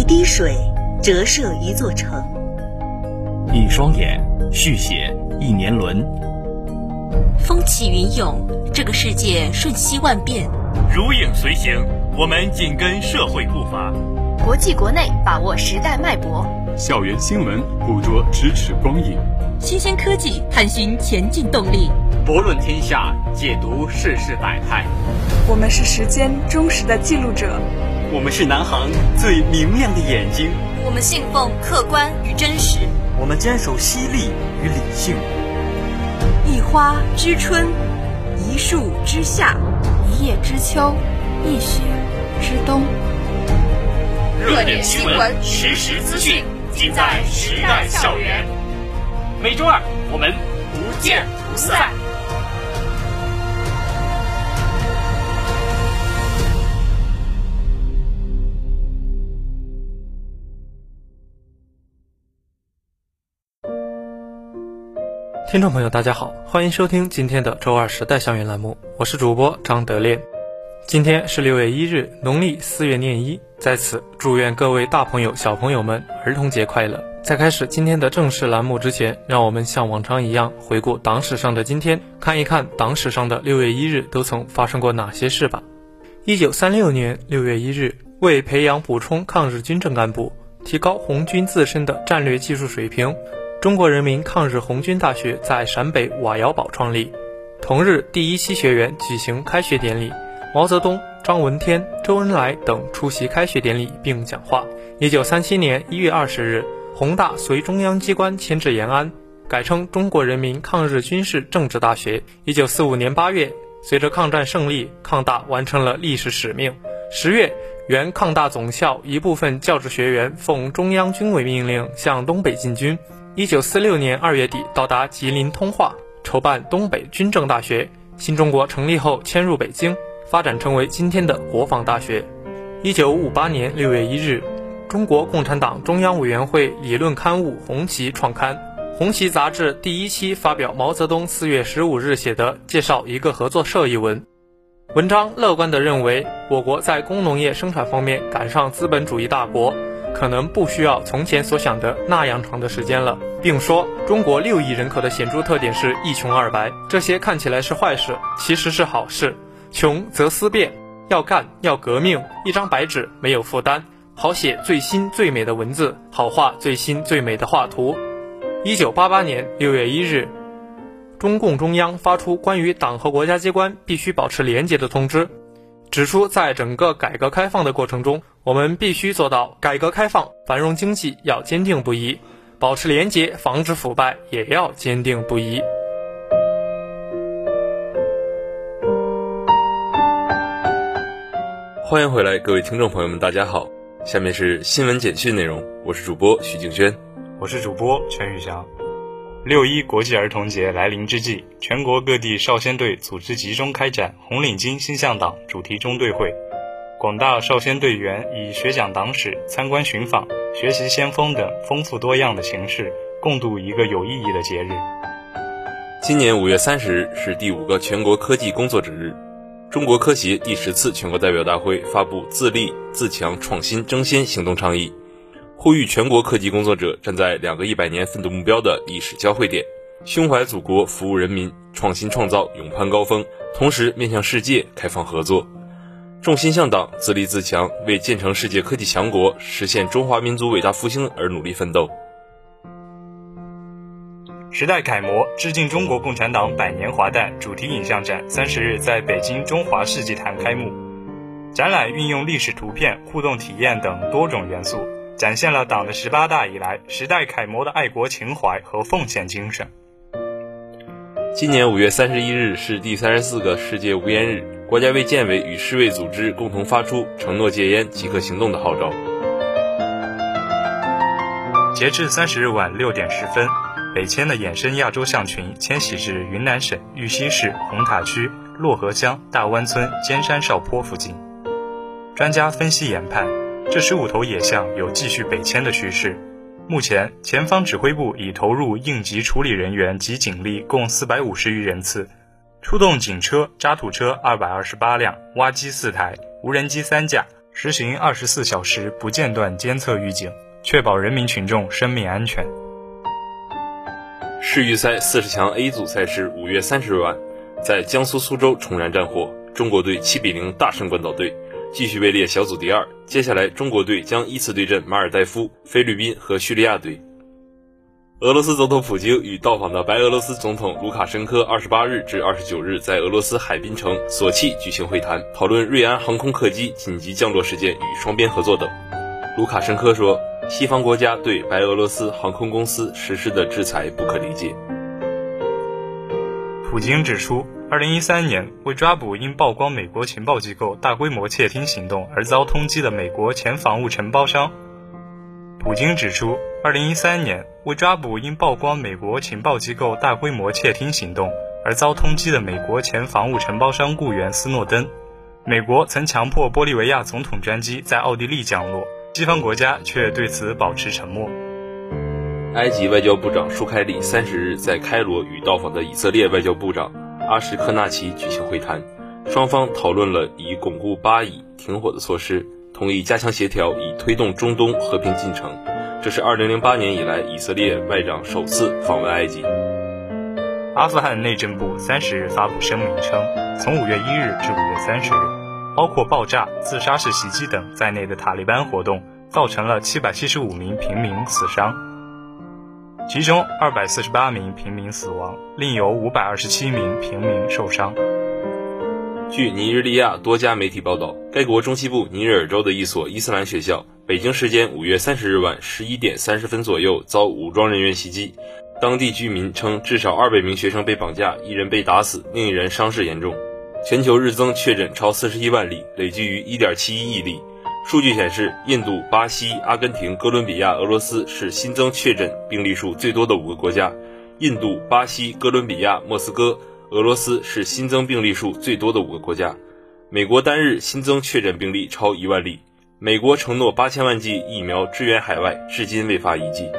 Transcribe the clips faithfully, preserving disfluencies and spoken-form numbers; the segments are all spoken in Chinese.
滴水折射一座城， 一双眼续写一年轮。 风起云涌，这个世界瞬息万变。 如影随形，我们紧跟社会步伐。 国际国内把握时代脉搏， 校园新闻捕捉咫尺光影， 新鲜科技探寻前进动力， 博论天下，解读世事百态。 我们是时间忠实的记录者， 我们是南航最明亮的眼睛， 我们信奉客观与真实， 我们坚守犀利与理性。 一花知春，一树知夏， 一叶知秋，一雪知冬。 热点新闻，实时资讯，尽在时代校园。每周二我们不见不散。 听众朋友大家好，欢迎收听今天的周二时代校园栏目，我是主播张德烈。今天是六月一日，农历四月廿一，在此祝愿各位大朋友小朋友们儿童节快乐。在开始今天的正式栏目之前，让我们像往常一样回顾党史上的今天，看一看党史上的六月一日都曾发生过哪些事吧。一九三六年六月一日，为培养补充抗日军政干部，提高红军自身的战略技术水平，中国人民抗日红军大学在陕北瓦窑堡创立。同日，第一期学员举行开学典礼，毛泽东、张闻天、周恩来等出席开学典礼并讲话。一九三七年一月二十日，宏大随中央机关迁至延安，改称中国人民抗日军事政治大学。一九四五年八月，随着抗战胜利，抗大完成了历史使命。十月，原抗大总校一部分教职学员奉中央军委命令向东北进军。一九四六年二月底到达吉林通化，筹办东北军政大学。新中国成立后迁入北京，发展成为今天的国防大学。一九五八年六月一日，中国共产党中央委员会理论刊物《红旗》创刊，《红旗》杂志第一期发表毛泽东四月十五日写的介绍一个合作社一文。文章乐观地认为，我国在工农业生产方面赶上资本主义大国，可能不需要从前所想的那样长的时间了，并说中国六亿人口的显著特点是一穷二白，这些看起来是坏事，其实是好事。穷则思变，要干要革命，一张白纸没有负担，好写最新最美的文字，好画最新最美的画图。一九八八年六月一日，中共中央发出关于党和国家机关必须保持廉洁的通知，指出在整个改革开放的过程中，我们必须做到改革开放繁荣经济要坚定不移，保持廉洁防止腐败也要坚定不移。 欢迎回来，各位听众朋友们，大家好，下面是新闻简讯内容，我是主播徐景轩， 我是主播陈宇翔。六一国际儿童节来临之际，全国各地少先队组织集中开展红领巾新向党主题中队会，广大少先队员以学讲党史、参观寻访、学习先锋等丰富多样的形式，共度一个有意义的节日。 今年五月三十日是第五个全国科技工作者日，中国科协第十次全国代表大会发布自立、自强、创新、争先行动倡议，呼吁全国科技工作者站在两个一百年奋斗目标的历史交汇点，胸怀祖国，服务人民，创新创造，勇攀高峰，同时面向世界，开放合作，重心向党，自立自强，为建成世界科技强国，实现中华民族伟大复兴而努力奋斗。 时代楷模致敬中国共产党百年华诞主题影像展三十日在北京中华世纪坛开幕。展览运用历史图片、互动体验等多种元素，展现了党的十八大以来时代楷模的爱国情怀和奉献精神。 今年五月三十一日是第三十四个世界无烟日，国家卫健委与世卫组织共同发出承诺戒烟即刻行动的号召。 截至三十日晚六点十分，北迁的野生亚洲象群迁徙至云南省玉溪市红塔区漯河乡大湾村尖山哨坡附近。专家分析研判，这十五头野象有继续北迁的趋势。目前，前方指挥部已投入应急处理人员及警力共四百五十余人次，出动警车、渣土车二百二十八辆、挖机四台、无人机三架， 实行二十四小时不间断监测预警，确保人民群众生命安全。 世预赛四十强 A 组赛事五月三十日晚，在江苏苏州重燃战火，中国队七比零大胜关岛队，继续位列小组第二。接下来，中国队将依次对阵马尔代夫、菲律宾和叙利亚队。俄罗斯总统普京与到访的白俄罗斯总统卢卡申科二十八日至二十九日在俄罗斯海滨城索契举行会谈，讨论瑞安航空客机紧急降落事件与双边合作等。卢卡申科说，西方国家对白俄罗斯航空公司实施的制裁不可理解。 普京指出，二零一三年为抓捕因曝光美国情报机构大规模窃听行动而遭通缉的美国前防务承包商普京指出，二零一三年为抓捕因曝光美国情报机构大规模窃听行动而遭通缉的美国前防务承包商雇员斯诺登，美国曾强迫玻利维亚总统专机在奥地利降落，西方国家却对此保持沉默。 埃及外交部长舒开里三十日在开罗与到访的以色列外交部长阿什科纳奇举行会谈，双方讨论了以巩固巴以停火的措施，同意加强协调以推动中东和平进程。这是二零零八年以来以色列外长首次访问埃及。 阿富汗内政部三十日发布声明称，从五月一日至五月三十日，包括爆炸、自杀式袭击等在内的塔利班活动造成了七百七十五名平民死伤，其中二百四十八名平民死亡，另有五百二十七名平民受伤。 据尼日利亚多家媒体报道，该国中西部尼日尔州的一所伊斯兰学校，北京时间五月三十日晚十一点三十分左右遭武装人员袭击。当地居民称，至少二百名学生被绑架，一人被打死，另一人伤势严重。全球日增确诊超四十一万例，累计于 一点七一亿例。数据显示，印度、巴西、阿根廷、哥伦比亚、俄罗斯是新增确诊病例数最多的五个国家。印度、巴西、哥伦比亚、莫斯科、俄罗斯是新增病例数最多的五个国家。美国单日新增确诊病例超一万例。美国承诺八千万剂疫苗支援海外，至今未发一剂。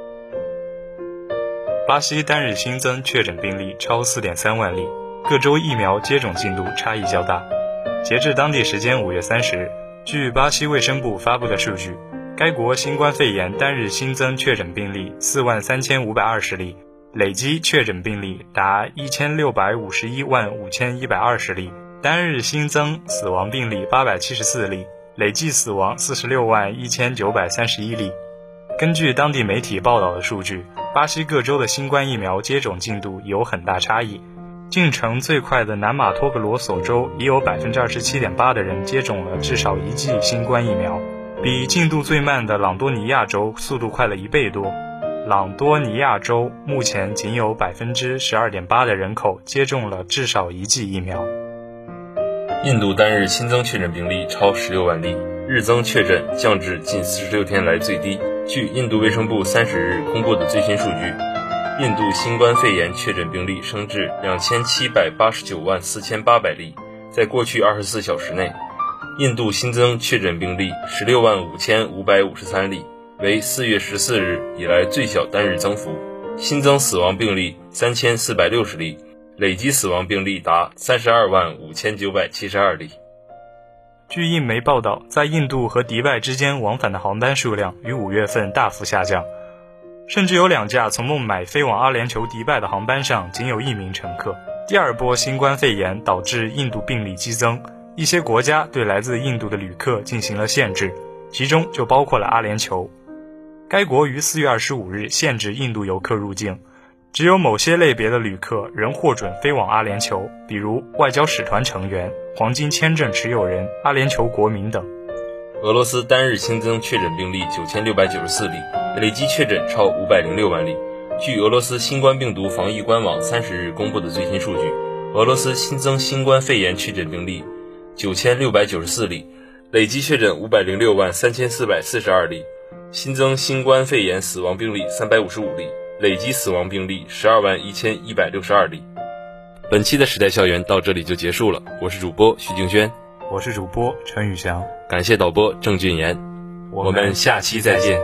巴西单日新增确诊病例超 四点三万例，各州疫苗接种进度差异较大。截至当地时间五月三十日，据巴西卫生部发布的数据，该国新冠肺炎单日新增确诊病例四万三千五百二十例，累计确诊病例达一千六百五十一万五千一百二十例，单日新增死亡病例八百七十四例，累计死亡四十六万一千九百三十一例。根据当地媒体报道的数据，巴西各州的新冠疫苗接种进度有很大差异。进程最快的南马托格罗索州已有 百分之二十七点八 的人接种了至少一剂新冠疫苗，比进度最慢的朗多尼亚州速度快了一倍多。朗多尼亚州目前仅有 百分之十二点八 的人口接种了至少一剂疫苗。 印度单日新增确诊病例超十六万例，日增确诊降至近四十六天来最低。据印度卫生部三十日公布的最新数据，印度新冠肺炎确诊病例升至两千七百八十九万四千八百例。在过去二十四小时内，印度新增确诊病例十六万五千五百五十三例，为四月十四日以来最小单日增幅。新增死亡病例三千四百六十例，累计死亡病例达三十二万五千九百七十二例。 据印媒报道，在印度和迪拜之间往返的航班数量于五月份大幅下降，甚至有两架从孟买飞往阿联酋迪拜的航班上仅有一名乘客。第二波新冠肺炎导致印度病例激增，一些国家对来自印度的旅客进行了限制，其中就包括了阿联酋。该国于四月二十五日限制印度游客入境，只有某些类别的旅客仍获准飞往阿联酋，比如外交使团成员、黄金签证持有人、阿联酋国民等。 俄罗斯单日新增确诊病例九千六百九十四例，累计确诊超五百零六万例。据俄罗斯新冠病毒防疫官网三十日公布的最新数据，俄罗斯新增新冠肺炎确诊病例九千六百九十四例，累计确诊五百零六万三千四百四十二例。新增新冠肺炎死亡病例三百五十五例，累计死亡病例十二万一千一百六十二例。本期的时代校园到这里就结束了，我是主播徐静轩， 我是主播陈宇翔， 感谢导播郑俊言，我们下期再见。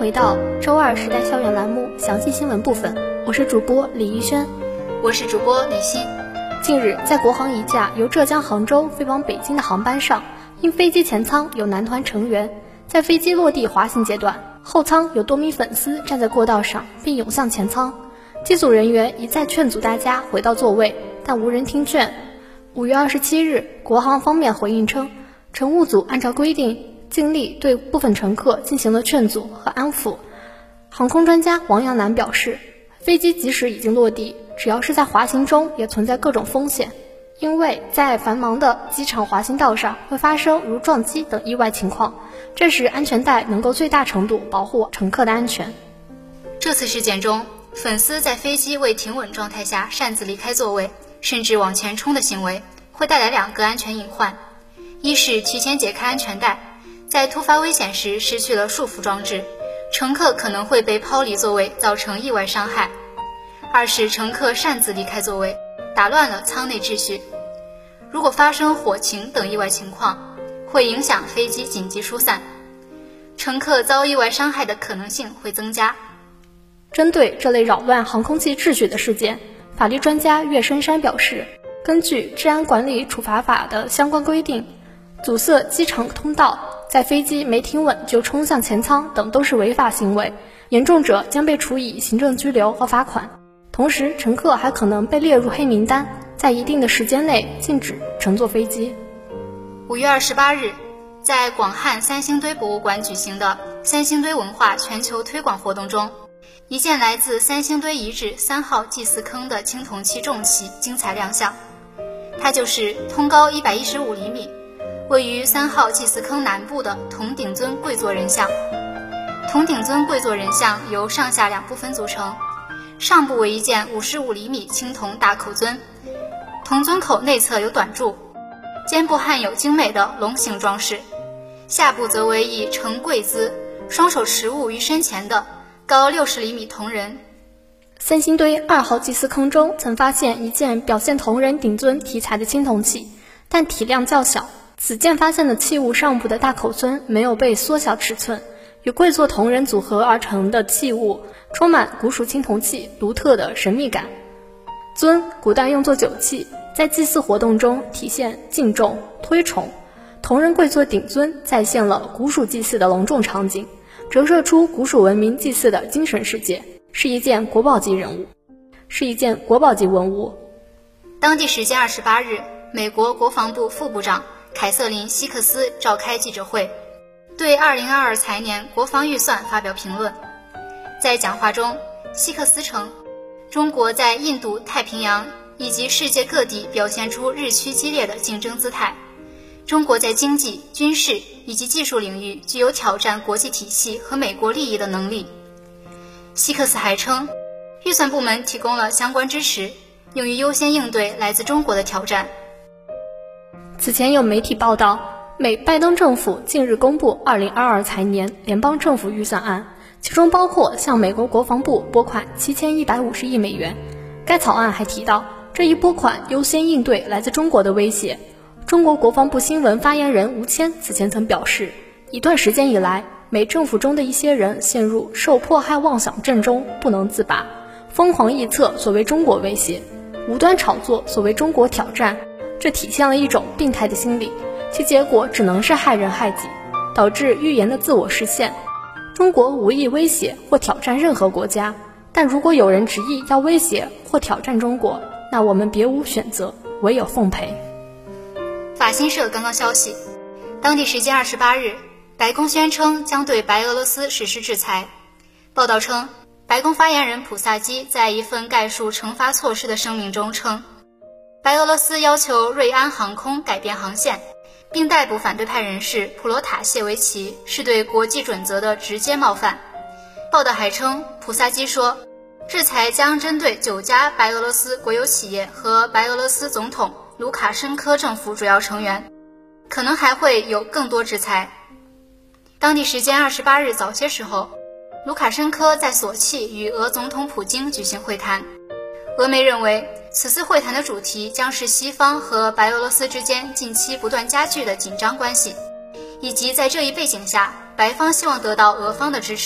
回到周二时代校园栏目详细新闻部分，我是主播李怡轩， 我是主播李欣。 近日，在国航一架由浙江杭州飞往北京的航班上，因飞机前舱有男团成员，在飞机落地滑行阶段，后舱有多名粉丝站在过道上并涌向前舱，机组人员一再劝阻大家回到座位，但无人听劝。五月二十七日，国航方面回应称，乘务组按照规定尽力对部分乘客进行了劝阻和安抚。航空专家王阳南表示，飞机即使已经落地，只要是在滑行中也存在各种风险，因为在繁忙的机场滑行道上会发生如撞击等意外情况，这时安全带能够最大程度保护乘客的安全。 这次事件中，粉丝在飞机未停稳状态下擅自离开座位，甚至往前冲的行为，会带来两个安全隐患：一是提前解开安全带，在突发危险时失去了束缚装置，乘客可能会被抛离座位，造成意外伤害；二是乘客擅自离开座位，打乱了舱内秩序。如果发生火情等意外情况，会影响飞机紧急疏散，乘客遭意外伤害的可能性会增加。 针对这类扰乱航空器秩序的事件，法律专家岳深山表示，根据治安管理处罚法的相关规定，阻塞机场通道，在飞机没停稳就冲向前舱等都是违法行为，严重者将被处以行政拘留和罚款。同时，乘客还可能被列入黑名单，在一定的时间内禁止乘坐飞机。 五月二十八日，在广汉三星堆博物馆举行的三星堆文化全球推广活动中，一件来自三星堆遗址三号祭祀坑的青铜器重器精彩亮相。它就是通高一百一十五厘米，位于三号祭祀坑南部的铜顶尊跪坐人像。铜顶尊跪坐人像由上下两部分组成，上部为一件五十五厘米青铜大口尊，铜尊口内侧有短柱，肩部焊有精美的龙形装饰，下部则为以呈跪姿，双手持物于身前的高六十厘米铜人。 三星堆二号祭祀坑中曾发现一件表现铜人顶尊题材的青铜器，但体量较小。此件发现的器物上部的大口尊没有被缩小尺寸，与跪坐铜人组合而成的器物充满古蜀青铜器独特的神秘感。尊古代用作酒器，在祭祀活动中体现敬重推崇，铜人跪坐顶尊再现了古蜀祭祀的隆重场景，折射出古蜀文明祭祀的精神世界，是一件国宝级人物，是一件国宝级文物。 当地时间二十八日，美国国防部副部长凯瑟琳·希克斯召开记者会，对二零二二财年国防预算发表评论。在讲话中，希克斯称，中国在印度太平洋以及世界各地表现出日趋激烈的竞争姿态，中国在经济、军事以及技术领域具有挑战国际体系和美国利益的能力。希克斯还称，预算部门提供了相关支持，用于优先应对来自中国的挑战。 此前有媒体报道，美拜登政府近日公布二零二二财年联邦政府预算案，其中包括向美国国防部拨款七千一百五十亿美元。该草案还提到，这一拨款优先应对来自中国的威胁。中国国防部新闻发言人吴谦此前曾表示，一段时间以来，美政府中的一些人陷入受迫害妄想症中不能自拔，疯狂臆测所谓中国威胁，无端炒作所谓中国挑战，这体现了一种病态的心理，其结果只能是害人害己，导致预言的自我实现。中国无意威胁或挑战任何国家，但如果有人执意要威胁或挑战中国，那我们别无选择，唯有奉陪。 法新社刚刚消息，当地时间二十八日，白宫宣称将对白俄罗斯实施制裁。报道称，白宫发言人普萨基在一份概述惩罚措施的声明中称，白俄罗斯要求瑞安航空改变航线，并逮捕反对派人士普罗塔谢维奇，是对国际准则的直接冒犯。报道还称，普萨基说，制裁将针对九家白俄罗斯国有企业和白俄罗斯总统卢卡申科政府主要成员，可能还会有更多制裁。当地时间二十八日早些时候，卢卡申科在索契与俄总统普京举行会谈。俄媒认为，此次会谈的主题将是西方和白俄罗斯之间近期不断加剧的紧张关系，以及在这一背景下，白方希望得到俄方的支持，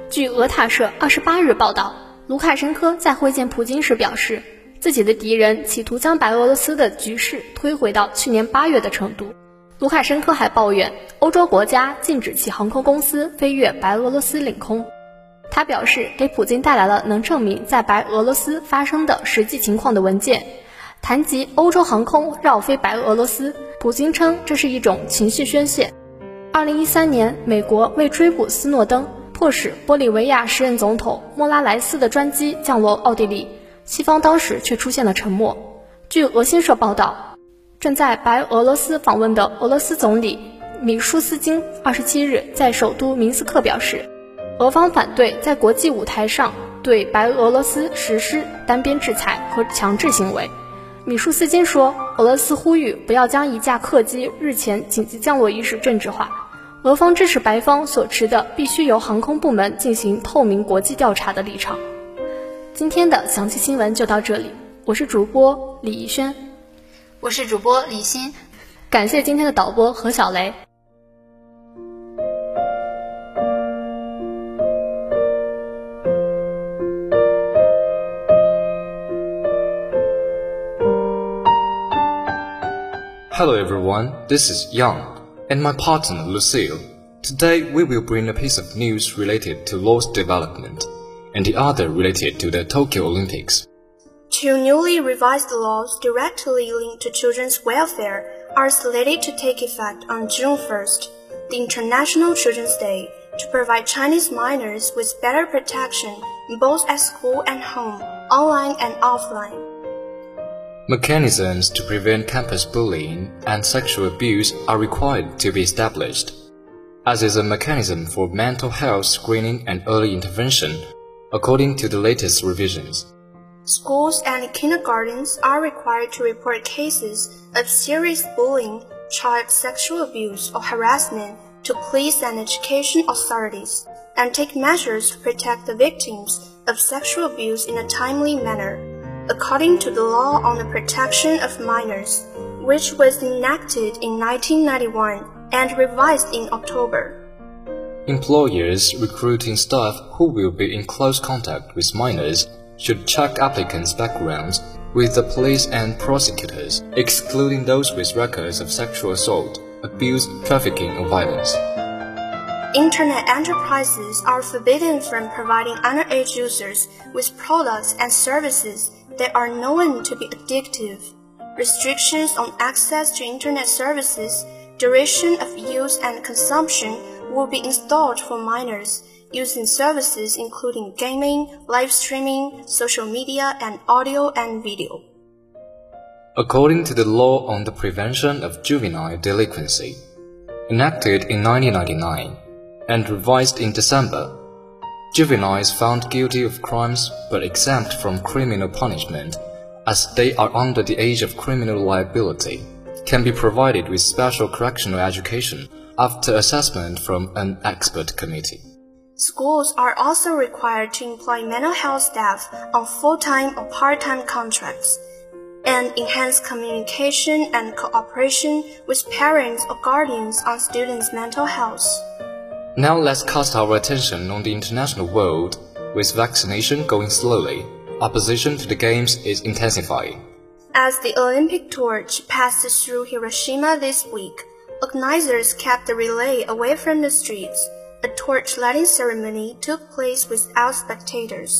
据俄塔社二十八日报道，卢卡申科在会见普京时表示，自己的敌人企图将白俄罗斯的局势推回到去年八月的程度。卢卡申科还抱怨欧洲国家禁止其航空公司飞越白俄罗斯领空。他表示，给普京带来了能证明在白俄罗斯发生的实际情况的文件。谈及欧洲航空绕飞白俄罗斯，普京称这是一种情绪宣泄。二零一三年，美国为追捕斯诺登，迫使玻利维亚时任总统莫拉莱斯的专机降落奥地利，西方当时却出现了沉默。据俄新社报道，正在白俄罗斯访问的俄罗斯总理米舒斯金二十七日在首都明斯克表示，俄方反对在国际舞台上对白俄罗斯实施单边制裁和强制行为。米舒斯金说，俄罗斯呼吁不要将一架客机日前紧急降落一事政治化，俄方支持白方所持的必须由航空部门进行透明国际调查的立场。今天的详细新闻就到这里，我是主播李怡轩， 我是主播李欣， 感谢今天的导播何小雷。 Hello everyone, this is Yang and my partner Lucille. Today we will bring a piece of news related to law's development and the other related to the Tokyo Olympics. Two newly revised laws directly linked to children's welfare are slated to take effect on June first, the International Children's Day, to provide Chinese minors with better protection both at school and home, online and offline. Mechanisms to prevent campus bullying and sexual abuse are required to be established, as is a mechanism for mental health screening and early intervention, according to the latest revisions. Schools and kindergartens are required to report cases of serious bullying, child sexual abuse or harassment to police and education authorities, and take measures to protect the victims of sexual abuse in a timely manner, according to the Law on the Protection of Minors, which was enacted in nineteen ninety-one and revised in October. Employers recruiting staff who will be in close contact with minors should check applicants' backgrounds with the police and prosecutors, excluding those with records of sexual assault, abuse, trafficking, or violence. Internet enterprises are forbidden from providing underage users with products and services that are known to be addictive. Restrictions on access to internet services, duration of use and consumption will be installed for minors using services including gaming, live streaming, social media, and audio and video. According to the Law on the Prevention of Juvenile Delinquency, enacted in nineteen ninety-nine and revised in December, juveniles found guilty of crimes but exempt from criminal punishment, as they are under the age of criminal liability, can be provided with special correctional education after assessment from an expert committee. Schools are also required to employ mental health staff on full-time or part-time contracts, and enhance communication and cooperation with parents or guardians on students' mental health. Now let's cast our attention on the international world. With vaccination going slowly, opposition to the Games is intensifying. As the Olympic torch passed through Hiroshima this week, organizers kept the relay away from the streets. A torch-lighting ceremony took place without spectators.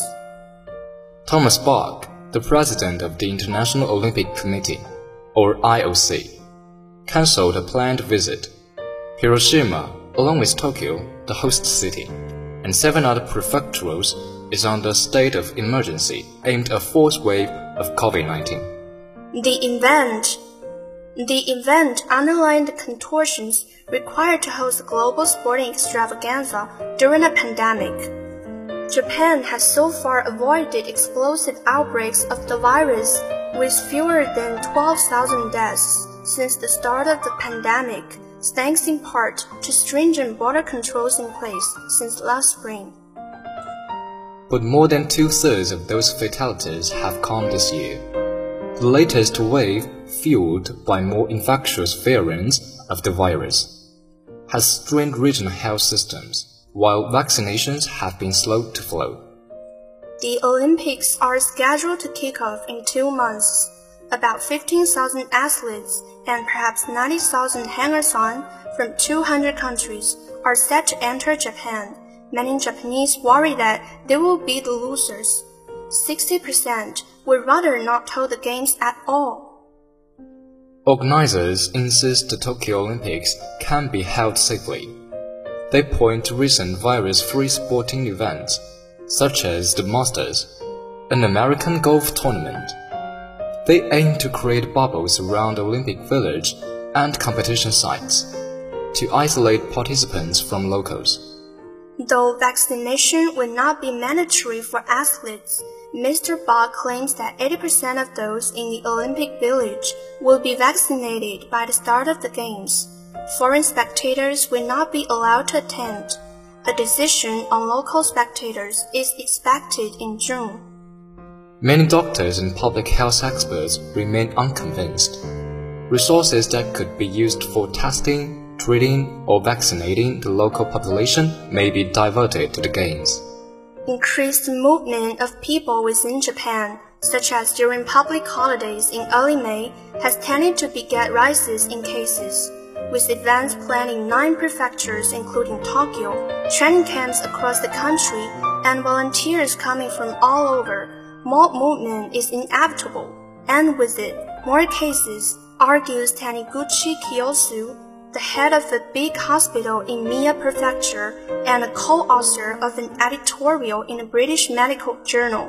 Thomas Bach, the president of the International Olympic Committee, or I O C, cancelled a planned visit. Hiroshima, along with Tokyo, the host city, and seven other prefecturals, is under a state of emergency aimed at a fourth wave of COVID nineteen. The event, the event underlined the contortions required to host a global sporting extravaganza during a pandemic. Japan has so far avoided explosive outbreaks of the virus, with fewer than twelve thousand deaths since the start of the pandemic, thanks in part to stringent border controls in place since last spring. But more than two-thirds of those fatalities have come this year. The latest wave, fueled by more infectious variants of the virus, has strained regional health systems, while vaccinations have been slow to flow. The Olympics are scheduled to kick off in two months. About fifteen thousand athletes and perhaps ninety thousand hangers-on from two hundred countries are set to enter Japan. Many Japanese worry that they will be the losers. sixty percent would rather not hold the games at all. Organizers insist the Tokyo Olympics can be held safely. They point to recent virus-free sporting events, such as the Masters, an American golf tournament. They aim to create bubbles around the Olympic Village and competition sites, to isolate participants from locals. Though vaccination will not be mandatory for athletes, Mister Bach claims that eighty percent of those in the Olympic Village will be vaccinated by the start of the Games. Foreign spectators will not be allowed to attend. A decision on local spectators is expected in June. Many doctors and public health experts remain unconvinced. Resources that could be used for testing, treating, or vaccinating the local population may be diverted to the Games. Increased movement of people within Japan, such as during public holidays in early May, has tended to beget rises in cases. With events planned in nine prefectures including Tokyo, training camps across the country, and volunteers coming from all over, more movement is inevitable, and with it, more cases, argues Taniguchi Kiyosu, the head of a big hospital in Mie Prefecture and a co-author of an editorial in a British medical journal.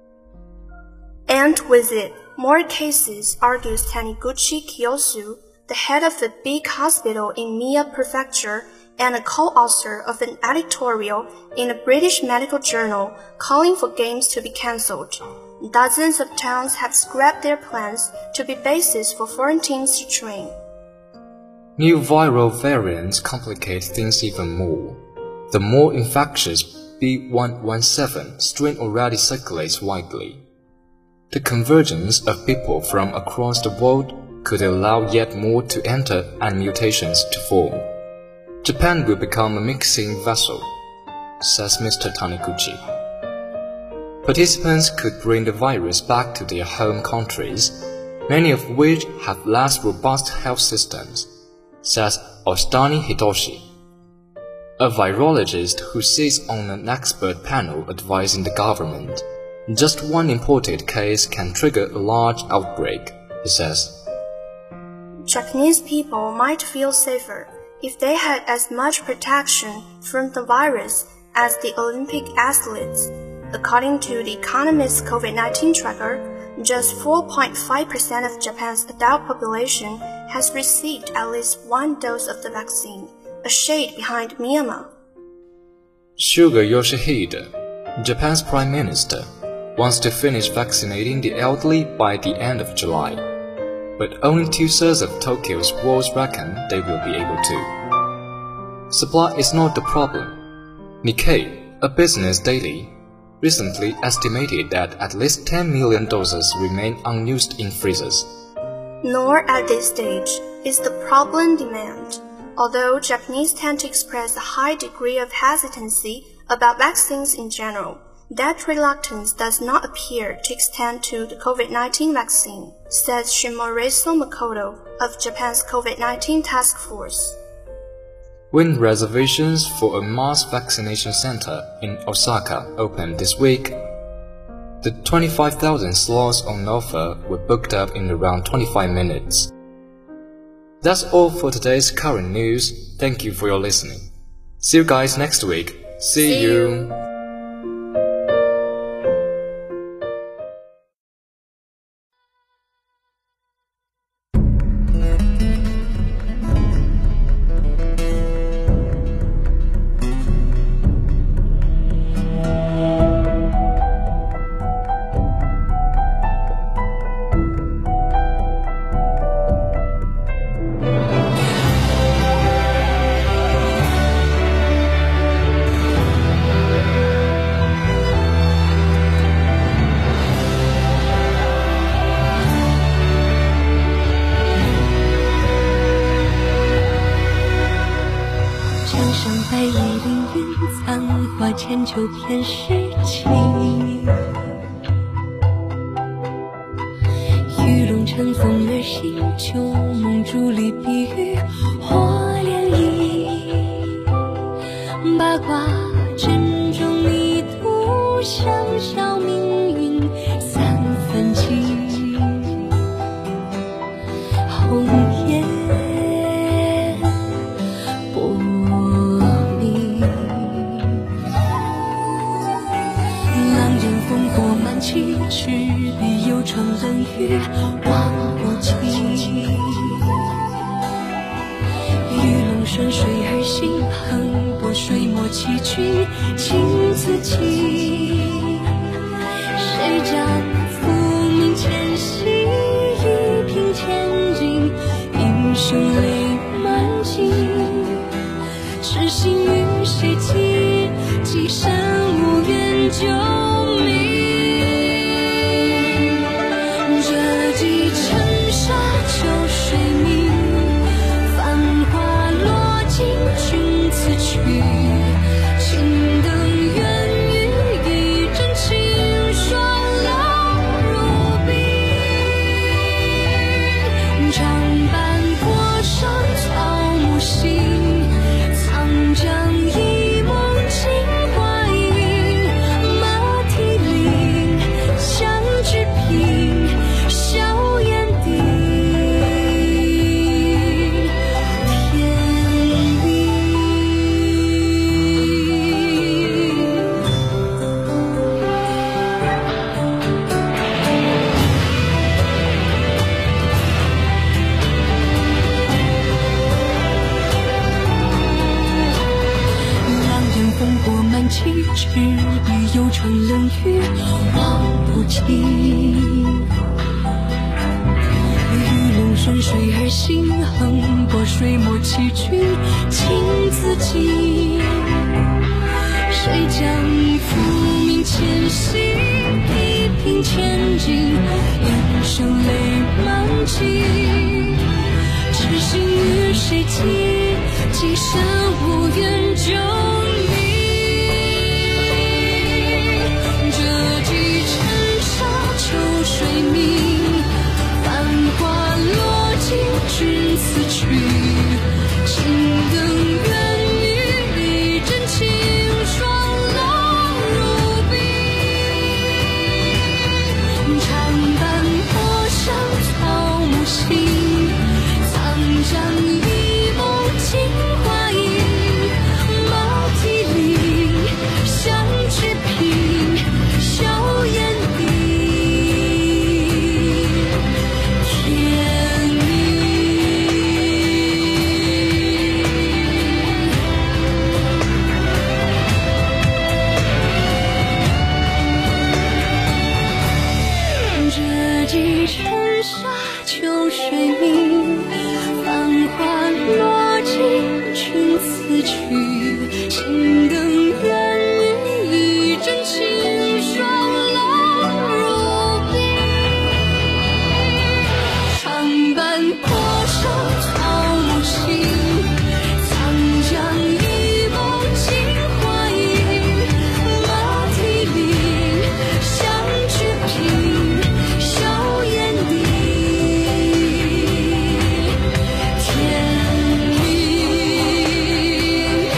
And with it, more cases, argues Taniguchi Kiyosu, the head of a big hospital in Mie Prefecture and a co-author of an editorial in a British medical journal calling for games to be cancelled. Dozens of towns have scrapped their plans to be bases for foreign teams to train. New viral variants complicate things even more. The more infectious B one one seven strain already circulates widely. The convergence of people from across the world could allow yet more to enter and mutations to form. Japan will become a mixing vessel, says Mister Taniguchi. Participants could bring the virus back to their home countries, many of which have less robust health systems, says Ostani Hitoshi, a virologist who sits on an expert panel advising the government. Just one imported case can trigger a large outbreak, he says. Japanese people might feel safer if they had as much protection from the virus as the Olympic athletes. According to the Economist's COVID nineteen tracker, just four point five percent of Japan's adult population has received at least one dose of the vaccine, a shade behind Myanmar. Suga Yoshihide, Japan's prime minister, wants to finish vaccinating the elderly by the end of July, but only two-thirds of Tokyo's wards reckon they will be able to. Supply is not the problem. Nikkei, a business daily, recently estimated that at least ten million doses remain unused in freezers. Nor at this stage is the problem demand. Although Japanese tend to express a high degree of hesitancy about vaccines in general, that reluctance does not appear to extend to the COVID nineteen vaccine, says Shimoreso Makoto of Japan's COVID nineteen task force. When reservations for a mass vaccination center in Osaka opened this week, the twenty-five thousand slots on offer were booked up in around twenty-five minutes. That's all for today's current news. Thank you for your listening. See you guys next week. See, See you. you. 在一林云残花间，就偏诗情。玉龙乘风而行，旧梦伫立，碧玉或涟漪。八卦阵中一度，香消命运三分情。红颜薄命，狼烟烽火满旗，赤壁幽窗冷雨望不尽。玉龙顺水而行，横波水墨崎岖，情自己。谁将浮名前夕，一平千金，英雄泪满襟。痴心与谁寄，寄身无缘救命。这几尘沙旧水明，繁华落尽君此去。青灯远与一阵清霜老如冰。长坂坡上草木新，长江一梦惊花影。马蹄铃，相知平，硝烟顶。天明。狼烟烽火满旗，赤壁幽窗冷雨望不尽。玉龙顺水而行，横波水墨崎岖，情自己。谁将浮名前夕，一平千金，英雄泪满襟。痴心与谁寄，寄身无缘救命。这几尘沙旧水明，繁华落尽君此去。青灯远与一阵清霜老如冰。长坂坡上草木新，长江一梦惊花影。马蹄铃，相知平，硝烟顶。天明。这几尘沙旧水明，繁华落尽君此去。青灯远与一阵清霜老如冰。长坂坡上草木新，长江一梦惊花影。马蹄铃，相知平，硝烟顶。天明。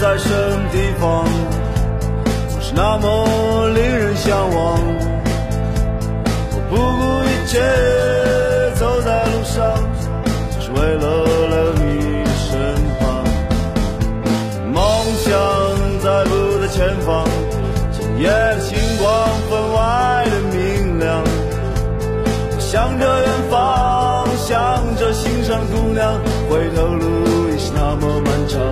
那么令人向往， 切走在路上，只是为了来你身旁。梦想在不在前方，今夜的星光分外的明亮。向着远方，向着心上姑娘，回头路也是那么漫长。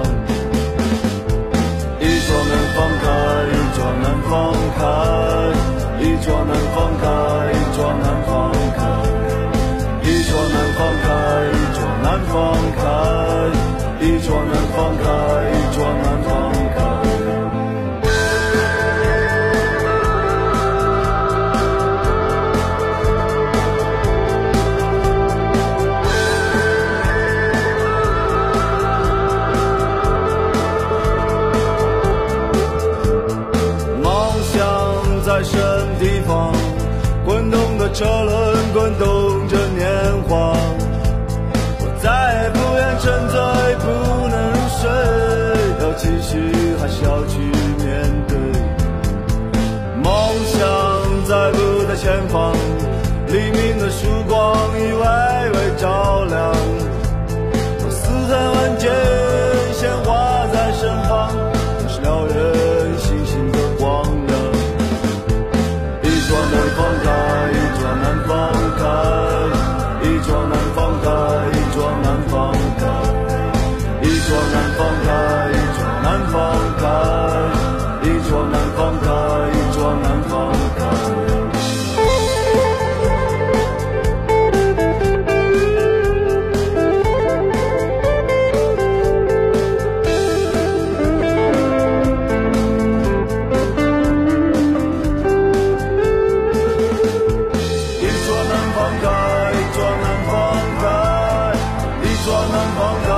一桩难放开，一桩难放开，一桩难放开，一桩难放开，一桩难放开，一桩难放开，一桩难放开，一桩难放开。在什么地方，滚动的车轮滚动着年华，我再也不愿沉醉，不能入睡，要继续还是要去面对。梦想在不在前方，黎明的曙光已微微照亮，我似曾闻见鲜花在身旁，那是燎原星星的光亮。一桩难放开，一桩难放开，一桩难放开，一桩难放开，一桩难放开，一桩难放开，一桩难放开，一桩难放开。一桩难放开，一桩难放开，一桩难放开。